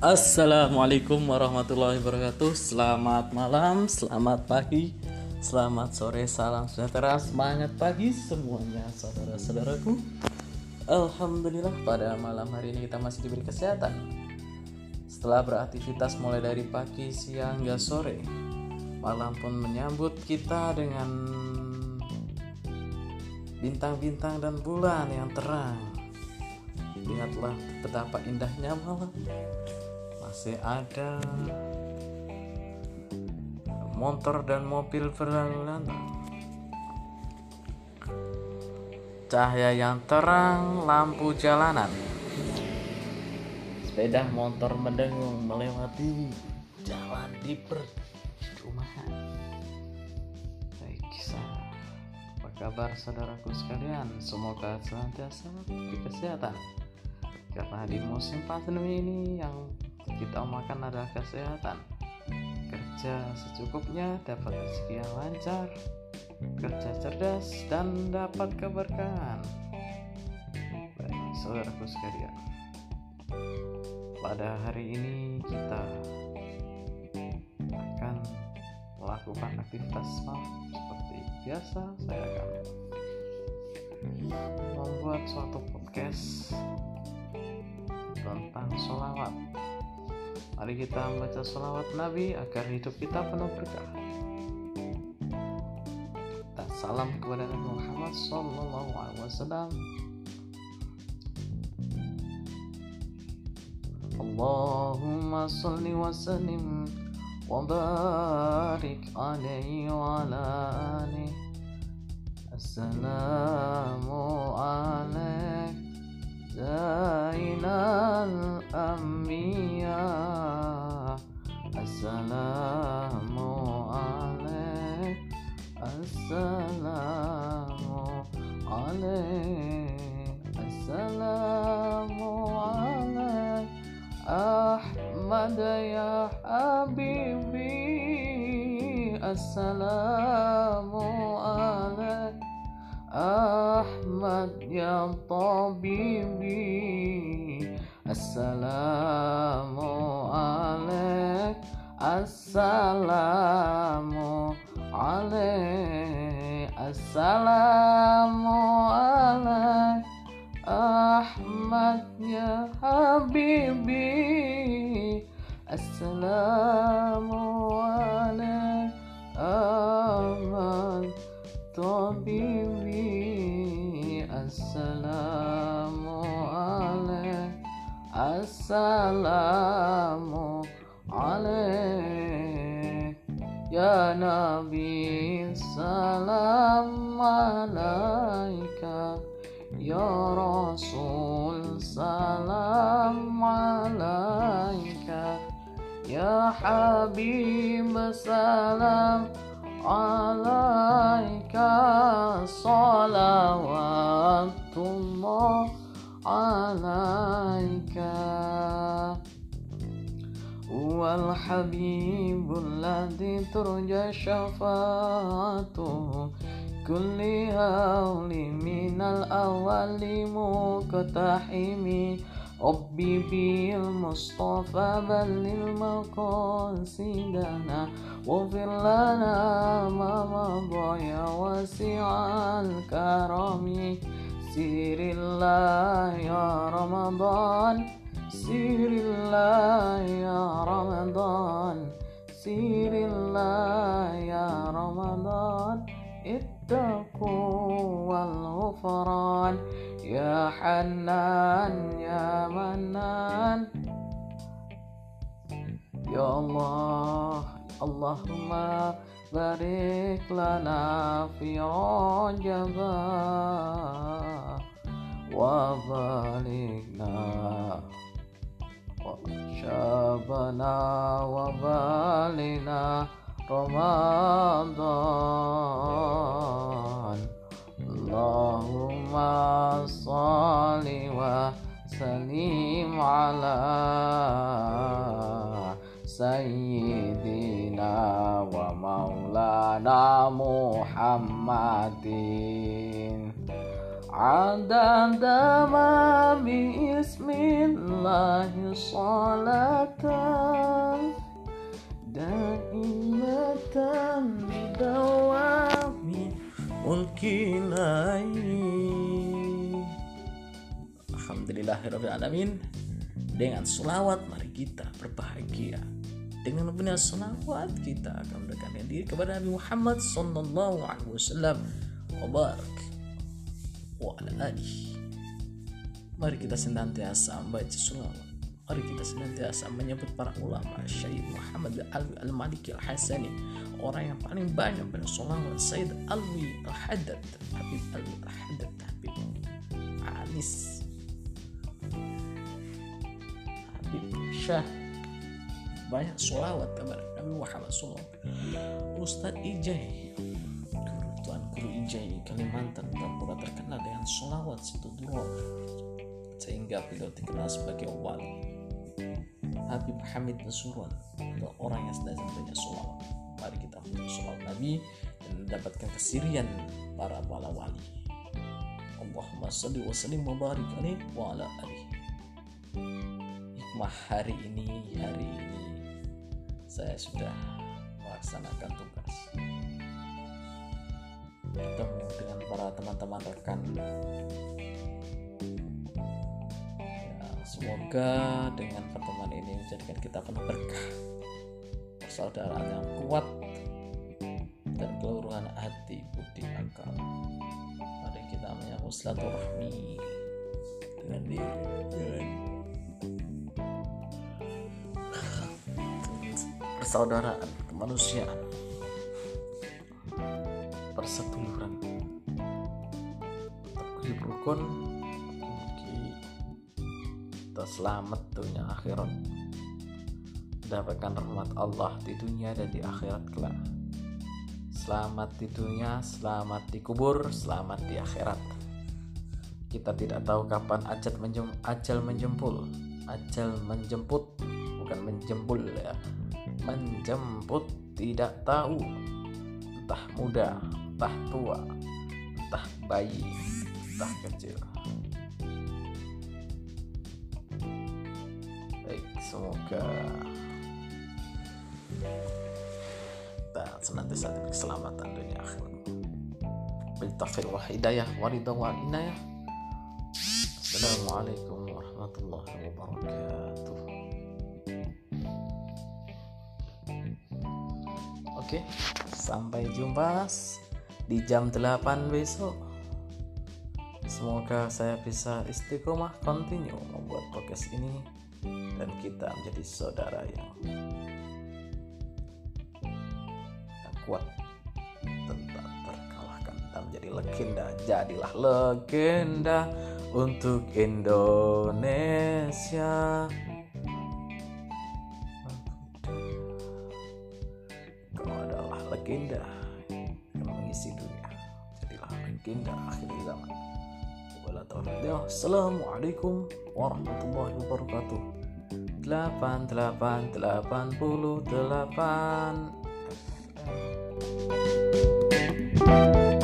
Assalamualaikum warahmatullahi wabarakatuh. Selamat malam, selamat pagi, selamat sore, salam sejahtera, semangat pagi semuanya saudara-saudaraku. Alhamdulillah pada malam hari ini kita masih diberi kesehatan. Setelah beraktivitas mulai dari pagi, siang, hingga sore, malam pun menyambut kita dengan bintang-bintang dan bulan yang terang. Lihatlah betapa indahnya malam. Masih ada motor dan mobil berlalu lalang, cahaya yang terang, lampu jalanan, sepeda motor mendengung melewati jalan di perumahan. Baik, apa kabar saudaraku sekalian? Semoga senantiasa diberi kesehatan. Karena di musim pandemi ini yang kita makan adalah kesehatan. Kerja secukupnya, dapat rezeki yang lancar, kerja cerdas dan dapat keberkahan. Baik, saudaraku sekalian, pada hari ini kita akan melakukan aktivitas malam seperti biasa. Saya akan membuat suatu podcast tentang sholawat. Mari kita membaca sholawat Nabi agar hidup kita penuh berkah. Dan salam kepada Nabi Muhammad SAW. Allahumma salli wa sallim wa barik alaihi wa ala alihi. Assalamu alaikum Zainal Anbiya. Assalamu alaik, assalamu alaik, assalamu alaik Ahmad ya Habibi. Assalamu alaik Ahmad ya Tabibi. Assalamu alaik, assalamu alaik, assalamu alaik Ahmad ya Habibi. Assalamu alaik Ahmad Tabibi. Assalamu alaik, assalamu alaik ya Nabi. Salam alaika ya Rasul. Salam alaika ya Habib. Salam alaika salawatullah alaika wal habibul ladzi turja syafa'atuhu kulli hawli minal awali muqtahimi. Rabbi bil Mustafa balil maqasidana waghfir lana ma madha ya wasi'al karami. Sirillah ya Ramadan, Sirillah ya Ramadan, Sirillah ya Ramadan. Ittaqu wal ghufran ya Hanan ya Manan. Ya Allah, Allahumma barik lana fi Rajab wa balikna wa syabana wa balina Ramadan. Allahumma salli wa sallim ala Sayyidina wa maulana Muhammadin عدد ما بسم الله صلاة دائمة بدوام ملكنا. Alhamdulillahirrahmanirrahim. Dengan selawat mari kita berbahagia. Dengan benar selawat kita akan mendekatkan diri kepada Nabi Muhammad sallallahu alaihi wasallam wa barak wa ala alihi. Mari kita senantiasa membaca selawat. Mari kita senantiasa menyebut para ulama, Syekh Muhammad Al-Maliki Al-Hasani, orang yang paling banyak bersolawat, Sayyid Alwi Al-Haddad, Habib Alwi Al-Haddad, Habib Anis, Habib Syah, banyak solawat kepada Nabi Muhammad SAW. Ustadz Ijai, Tuan Guru Ijai Kalimantan, pura terkenal dengan solawat situ dulu, sehingga beliau dikenal sebagai wali. Habib Hamid Nasuron adalah orang yang sedang banyak solawat. Mari kita solawat Nabi dan mendapatkan kesirian para wali. Allahumma salli wa sallim wa barik alaihi wa ala alihi. Hikmah hari ini saya sudah melaksanakan tugas, bertemu dengan para teman-teman rekan. Semoga dengan pertemuan ini menjadikan kita penuh berkah, persaudaraan yang kuat, dan keluruhan hati, budi, akal. Mari kita menyambung silaturahmi dengan persaudaraan, kemanusiaan, perseduluran, terguyup rukun. Kita selamat dunia akhirat, mendapatkan rahmat Allah di dunia dan di akhirat kelak. Selamat di dunia, selamat di kubur, selamat di akhirat. Kita tidak tahu kapan ajal menjemput, bukan menjempul ya, menjemput tidak tahu, entah muda, entah tua, entah bayi, entah kecil. Semoga kita senantiasa diberi keselamatan dunia akhirat. Bil taufiq wal hidayah wa ridha wal inayah. Assalamualaikum warahmatullahi wabarakatuh. Oke, sampai jumpa di jam 8 besok. Semoga saya bisa istiqomah continue membuat podcast ini dan kita menjadi saudara yang kuat, tetap terkalahkan, dan menjadi legenda. Jadilah legenda untuk Indonesia. Kau adalah legenda yang mengisi dunia. Jadilah legenda akhir zaman. Assalamualaikum warahmatullahi wabarakatuh. 8888